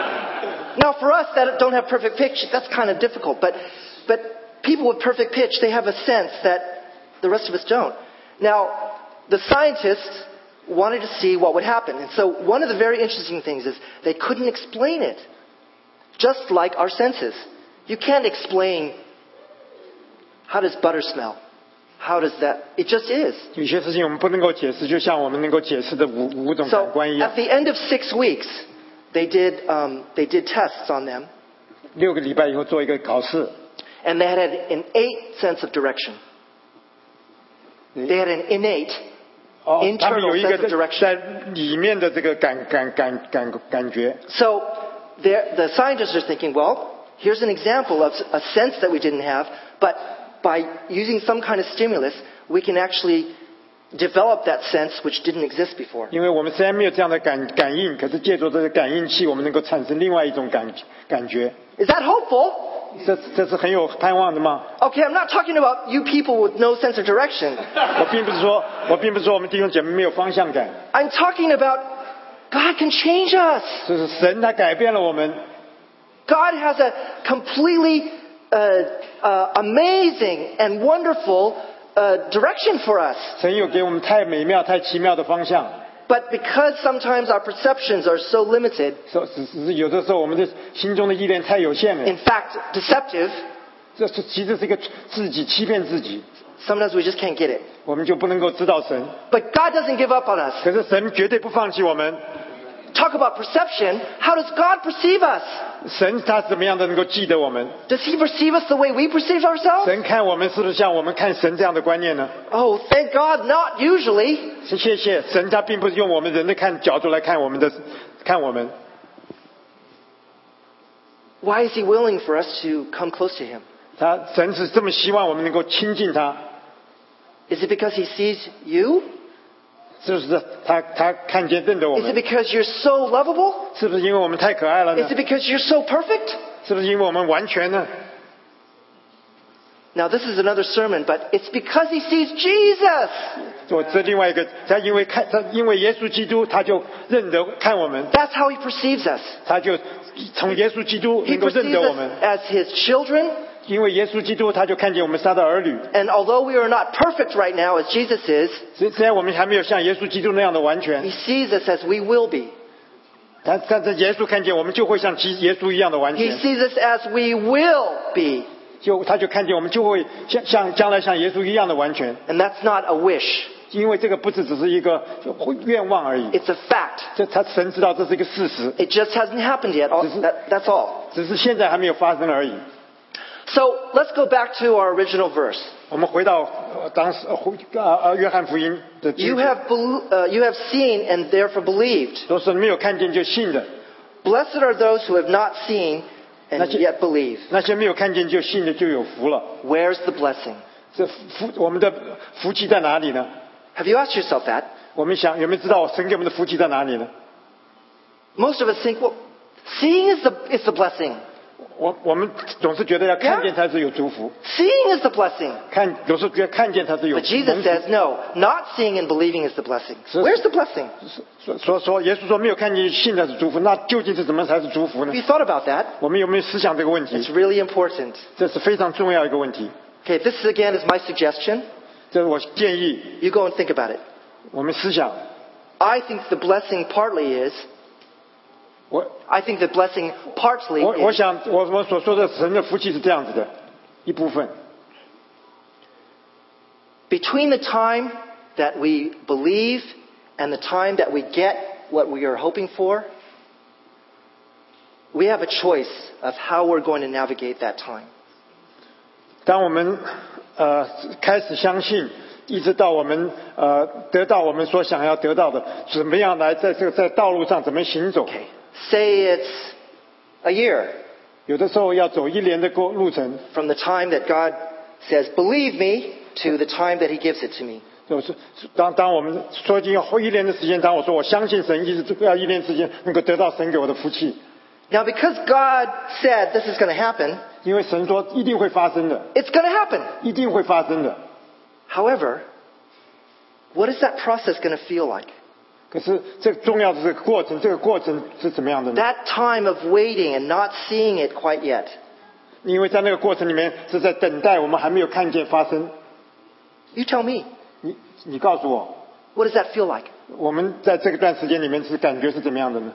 Now for us that don't have perfect pitch, that's kind of difficult. But but people with perfect pitch, they have a sense that the rest of us don't. Now the scientists wanted to see what would happen, and so one of the very interesting things is they couldn't explain it. Just like our senses, you can't explain how does butter smell. how does that? It just is. 有些事情我们不能够解释，就像我们能够解释的五五种 So 感官一样 at。the end of six weeks, they did um, they did tests on them, 六个礼拜以后做一个考试， and they had an innate sense of direction. They had an innate 哦，他们 internal 有一 sense 个 of direction. 在里面的这个感感感感感觉。 So there- the scientists are thinking, well, here's an example of a sense that we didn't have, but by using some kind of stimulus, we can actually develop that sense which didn't exist before. 因为我们虽然没有这样的感感应，可是借助这个感应器，我们能够产生另外一种感感觉。 Is that hopeful? 这这是很有盼望的吗？ Okay, I'm not talking about you people with no sense of direction. 我并不是说，我并不是说我们弟兄姐妹没有方向感， I'm talking about God can change us. 就是神他改变了我们， God has a completely uh, uh, amazing and wonderful uh, direction for us. 神有给我们太美妙、太奇妙的方向。 But because sometimes our perceptions are so limited, 说只只是有的时候我们的心中的意念太有限了， in fact, deceptive, 这是其实是一个自己欺骗自己， sometimes we just can't get it. 我们就不能够知道神。 But God doesn't give up on us. 可是神绝对不放弃我们。 Talk about perception. How does God perceive us? 神他怎么样的能够记得我们？ Does He perceive us the way we perceive ourselves? 神看我们是不是像我们看神这样的观念呢？ Oh, thank God, not usually. 谢谢神，他并不是用我们人的看角度来看我们的，看我们。 Why is He willing for us to come close to Him? 他神是这么希望我们能够亲近他， Is it because He sees you? 是不是他他看见认得我 Is it 们？ because you're so lovable? 是不是因为我们太可爱了呢 Is？it because you're so perfect? 是不是因为我们完全呢？ Now, this is another sermon, but it's because He sees Jesus. 我这另外一个，他因为看他因为耶稣基督，他就认得看我们， That's how He perceives us. 他就从耶稣基督 He 能够认 perceives 得我 us 们， as His children. 因为耶稣基督他就看见我们是他的儿女。 And although we are not perfect right now as Jesus is, 虽虽然我们还没有像耶稣基督那样的完全 He，sees us as we will be. 但但是耶稣看见我们就会像基耶稣一样的完 He 全， sees us as we will be. 就他就看见我们就会像像将来像耶稣一样的完全。 And that's not a wish. 因为这个不是只是一个愿望而已， It's a fact. 这他神知道这是一个事实， It just hasn't happened yet. All- that- That's all. 只是现在还没有发生而已。 So let's go back to our original verse. 我们回到呃当时呃呃约翰福音的经 You 节 have, bel- uh, you have seen and therefore believed. 都是没有看见就信的， Blessed are those who have not seen and That's it. yet believe. 那些没有看见就信的就有福了。 Where's the blessing? 这福我们的福气在哪里呢？ Have you asked yourself that? 我们想有没有知道神给我们的福气在哪里呢？ Most of us think, well, seeing is the, is the blessing. 我我们总是觉得要看见才是有祝福， Seeing is the blessing. 看总是觉得看见才是有 But Jesus 蒙福 says, no, not seeing and believing is the blessing. So- Where's the blessing? 说说说，耶稣说没有看见信才是祝福，那究竟是怎么才是祝福呢 Have？you thought about that? 我们有没有思想这个问 It's 题？ really important. 这是非常重要一个问题。 Okay, this is, again is my suggestion. 这是我建议 You go and think about it. 我们思想。 I think the blessing partly is, 我 I think the blessing partly 我我 is 想我我所说的神的福气是这样子的，一部分 between the time that we believe and the time that we get what we are hoping for, we have a choice of how we're going to navigate that time. 当我们呃开始相信，一直到我们呃得到我们所想要得到的，怎么样来在这个在道路上怎么行走？ Okay, say it's a year 有的时候要走一年的过路程， from the time that God says, believe me, to the time that He gives it to me. 就是当当我们说已经要一年的时间，当我说我相信神，一直要一年时间能够得到神给我的福气， Now, because God said this is going to happen, 因为神说一定会发生的， it's going to happen. 一定会发生的。 However, what is that process going to feel like? 可是这个重要的这个过程，这个过程是怎么样的呢？ That time of waiting and not seeing it quite yet. 因为在那个过程里面是在等待，我们还没有看见发生。 You tell me, 你你告诉我， what does that feel like? 我们在这个段时间里面是感觉是怎么样的呢？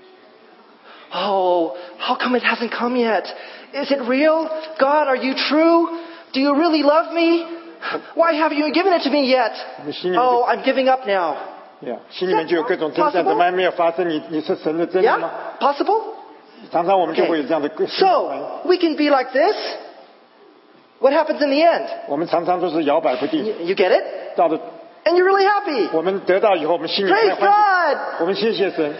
Oh, how come it hasn't come yet? Is it real? God, are you true? Do you really love me? Why haven't you given it to me yet? 我们心里面就 Oh, I'm giving up now. Yeah, 心里面就有各种征战， Possible? 怎么还没有发生？你你是神的真理吗？ Yeah? Possible? 常常我们就会有这样的 Okay. 心理反应 So, we can be like this. What happens in the end? 我们常常都是摇摆不定， You, you get it? 到了 And you're really happy. 我们得到以后，我们心里 Praise 太欢喜， God! 我们谢谢神。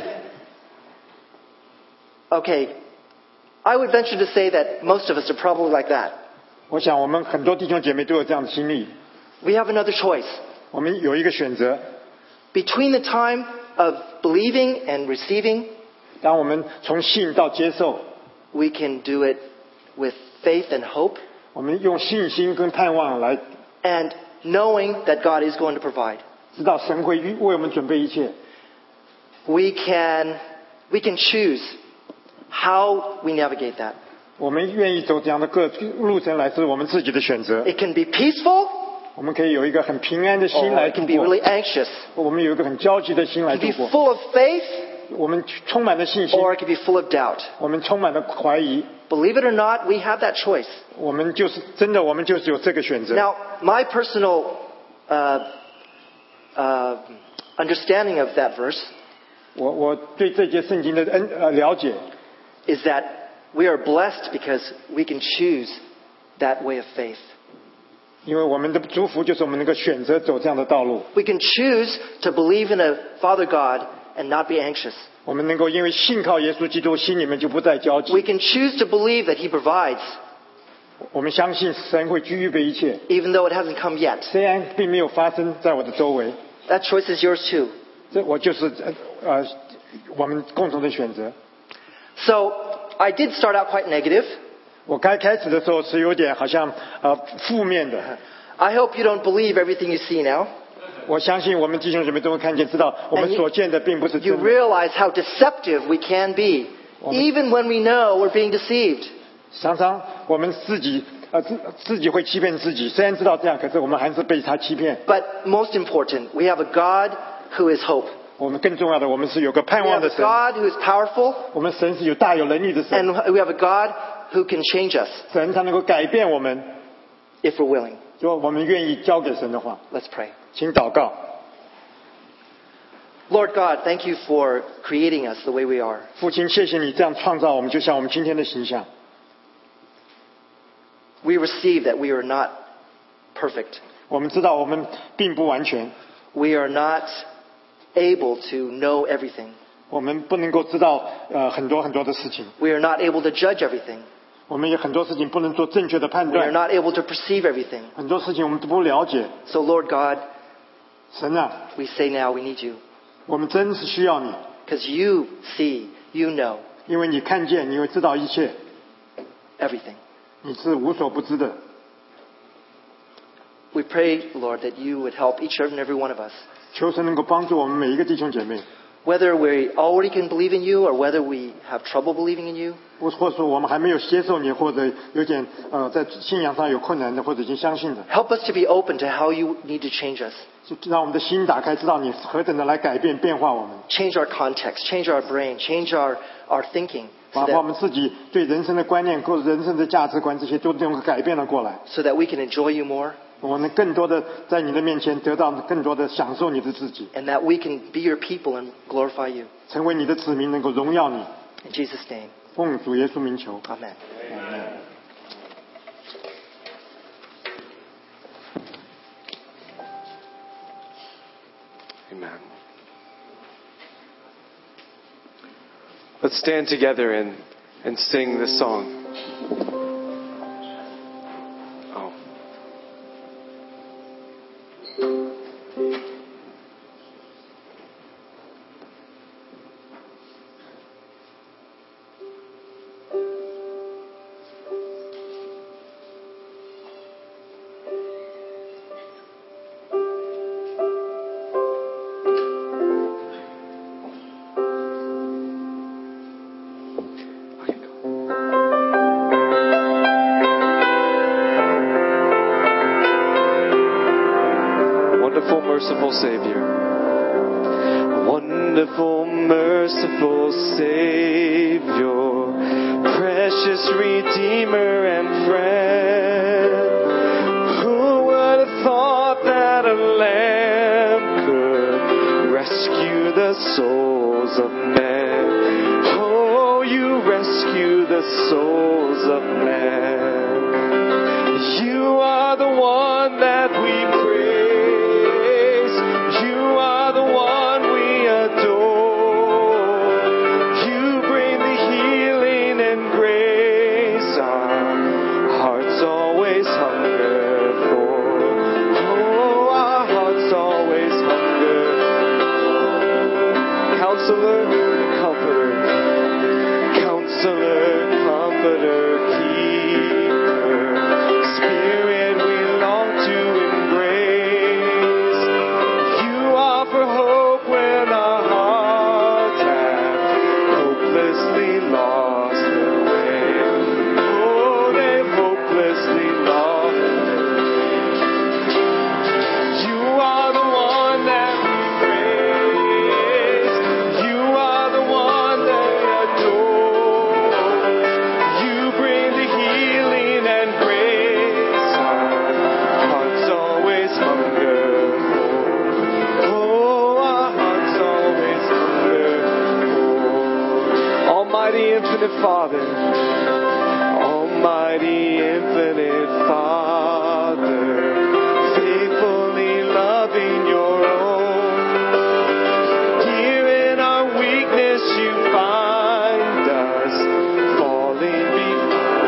Okay. I would venture to say that most of us are probably like that. 我想我们很多弟兄姐妹都有这样的经历。 We have another choice. 我们有一个选择， Between the time of believing and receiving, 当我们从信到接受， we can do it with faith and hope 我们用信心跟盼望来 and knowing that God is going to provide. 知道神会为我们准备一切。 We can, we can choose how we navigate that. 我们愿意走这样的各路程来，是我们自己的选择。 It can be peaceful 我们可以有一个很平安的心 or 来 it 度 can be 过， really anxious. 我们有一个很焦急的心来 It can 度 be 过。 full of faith 我们充满了信心， or it can be full of doubt. 我们充满了怀疑。 Believe it or not, we have that choice. 我们就是真的，我们就是有这个选择。 Now, my personal uh, uh, understanding of that verse 我我对这节圣经的恩呃了解， is that we are blessed because we can choose that way of faith. 因为我们的祝福就是我们能够选择走这样的道路， We can choose to believe in a Father God and not be anxious. 我们能够因为信靠耶稣基督，心里面就不再焦 We 急。 can choose to believe that He provides, 我们相信神会预备一切， even though it hasn't come yet. 虽然并没有发生在我的周围， That choice is yours too. 这我就是呃呃我们共同的选择。 So, I did start out quite negative. 我刚开始的时候是有点好像呃负面的， I hope you don't believe everything you see now. 我相信我们弟兄姐妹都会看见，知道我们 And you- 所见的并不是 You 真的。 realize how deceptive we can be, even when we know we're being deceived. 常常我们自己呃自自己会欺骗自己，虽然知道这样，可是我们还是被他欺骗。 But most important, we have a God who is hope. 我们更重要的，我们是有个盼 We 望 have 的 a 神， God who is powerful, 我们神是有大有能力的神， and we have a God who can change us 神他能够改变我们。 if we're willing. 如果我们愿意交给神的话， Let's pray. 请祷告。 Lord God, thank you for creating us the way we are. 父亲，谢谢你这样创造我们，就像我们今天的形象。 We receive that we are not perfect. 我们知道我们并不完全， We are not able to know everything. 我们不能够知道呃很多很多的事情， We are not able to judge everything. 我们有很多事情不能做正确的判 We are 断， not able to perceive everything. 很多事情我们都不了解。 So, Lord God, 神啊， we say now we need you 我们真是需要你， because you see, you know 因为你看见，你会知道一切， everything. 你是无所不知的。 We pray, Lord, that you would help each and every one of us. 求神能够帮助我们每一个弟兄姐妹， Whether we already can believe in you or whether we have trouble believing in you, 或或者说我们还没有接受你，或者有点呃在信仰上有困难的，或者已经相信的， help us to be open to how you need to change us. 就让我们的心打开，知道你何等的来改变变化我们， Change our context, change our brain, change our, our thinking 把 so 把我 that, 们自己对人生的观念或者人生的价值观这些都能够改变了过来。 so that we can enjoy you more 我们更多的在你的面前得到更多的享受你的自己， and that we can be your people and glorify you. 成为你的子民，能够荣耀你。 In Jesus' name, 奉主耶稣名求。 amen. Amen. Let's stand together and, and sing this song. Oh. Okay, go. Wonderful, merciful Savior. Wonderful, merciful Savior. Precious Redeemer and friend. Who would have the souls of men. Oh, you rescue the souls of men. You are the one that we praise. You are the one we adore. You bring the healing and grace our hearts always hunger for. Oh, our hearts always hunger. Counselor, Comforter, Counselor, Comforter, Keeper, Spirit we long to embrace. You offer hope when our hearts have hopelessly lost their way. Oh, they've hopelessly lost their way. You are the one that we praise. You are the one that we adore. You bring the healing and grace our hearts always hunger for. Oh, our hearts always hunger for. Almighty infinite Father, Almighty infinite Father, faithfully loving your own. Here in our weakness you find us falling before.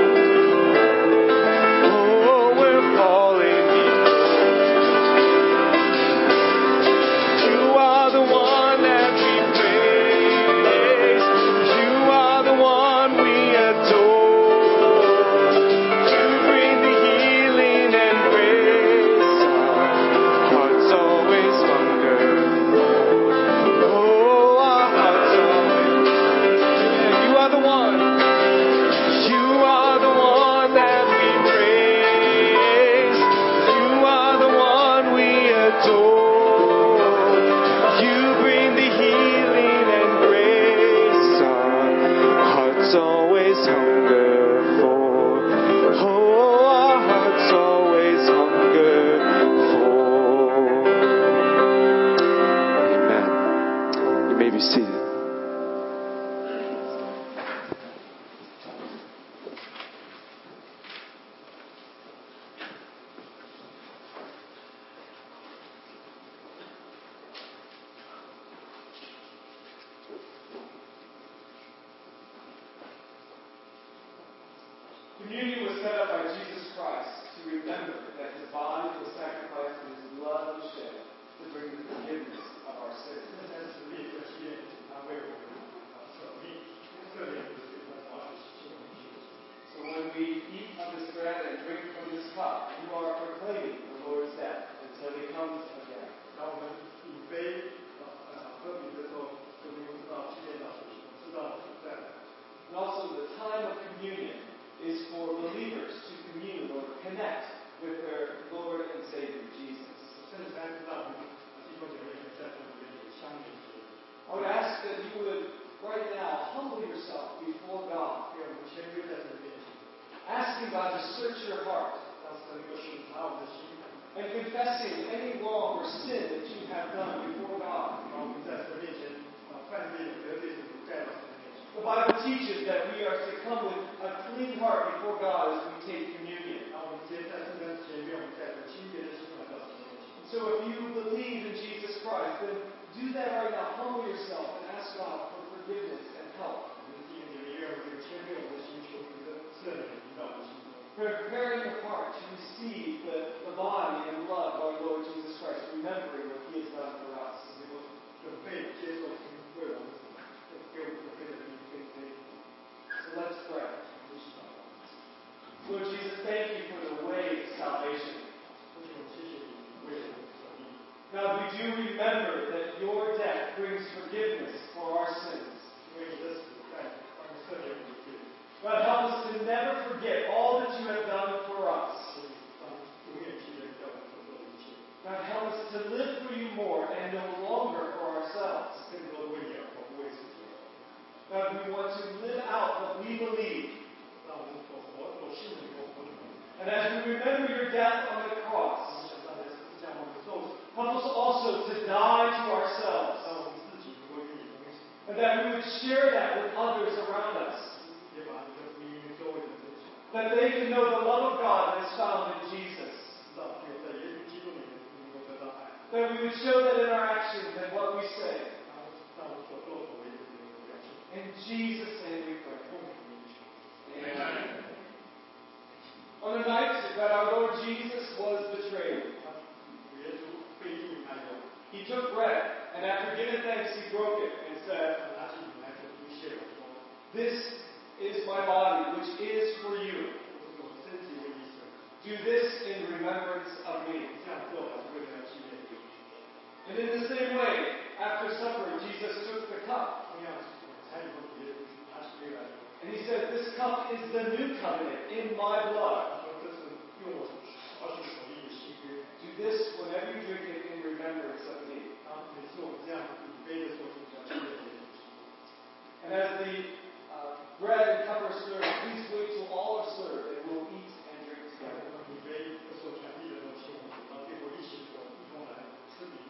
Oh, we're falling before. You are the one that we praise. You are the one we adore. You bring the healing and grace our hearts always hunger for. Oh, our hearts always. You are the one. You are the one that we praise. You are the one we adore. You bring the healing and grace our hearts always hunger for. Oh, our hearts always hunger for. Amen. You may be seated. Communion was set up by Jesus Christ to remember that his body was sacrificed and his blood was shed to bring the forgiveness of our sins. So when we eat of this bread and drink from this cup, you are proclaiming the Lord's death until he comes again. And also the time of communion is for believers to commune or connect with their Lord and Savior, Jesus. I would ask that you would right now humble yourself before God, asking God to search your heart and confessing any wrong or sin that you have done before God. The Bible teaches that we are to come with a clean heart before God as we take communion. So if you believe in Jesus Christ, then do that right now. Humble yourself and ask God for forgiveness and help. Preparing the heart to receive the, the body and blood of our Lord Jesus Christ, remembering what he has done for us. So let's pray. Lord Jesus, thank you for the way of salvation. God, we do remember that your death brings forgiveness for our sins. God, help us to never forget all that you have done for us. God, help us to live for you more and no longer for ourselves. God, we want to live out what we believe. And as we remember your death on the cross, help us also to die to ourselves but that we would share that with others around us. 也把这个福音周围的分享， That they can know the love of God that is found in Jesus. 让他们在耶稣基督里面能够得到爱， That we would show that in our actions and what we say. 让我们所做所为的能够表现。 In Jesus' name we pray. Amen. On the night that our Lord Jesus was betrayed, 主耶稣被定以后， he took bread, and after giving thanks, he broke it and said, 他拿起饼来说：“不谢我说， This is my body, which is for you. 这是我身体为你舍， Do this in remembrance of me. 这样做是为了纪念你。” And in the same way, after supper, Jesus took the cup, 同样，才以后主耶稣拿起杯来说， and he said, This cup is the new covenant in my blood. 他说：“这是用我而是所立的新约。 Do this whenever you drink it in remembrance of me. 当每次我们这样以杯的时候，就叫纪念耶稣。” And as the uh, bread and cup are served, please wait till all are served, and we'll eat and drink 在 together. 我们以杯的时候传递的时候，请我们到最后一起说，一同来吃饼。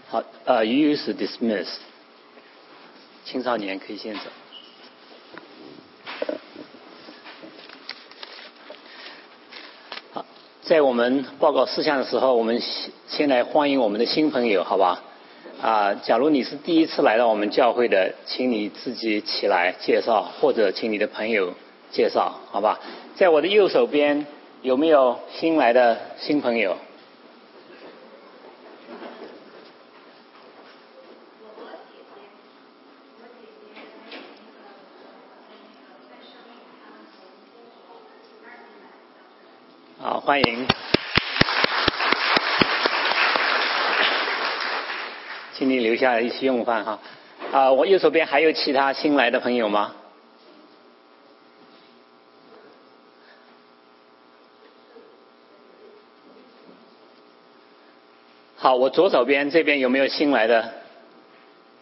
好，呃 ，youth dismissed。青少年可以先走。好，在我们报告事项的时候，我们先来欢迎我们的新朋友，好吧？啊，假如你是第一次来到我们教会的，请你自己起来介绍，或者请你的朋友介绍，好吧？在我的右手边有没有新来的新朋友？好，欢迎，请你留下来一起用饭哈。啊，我右手边还有其他新来的朋友吗？好，我左手边这边有没有新来的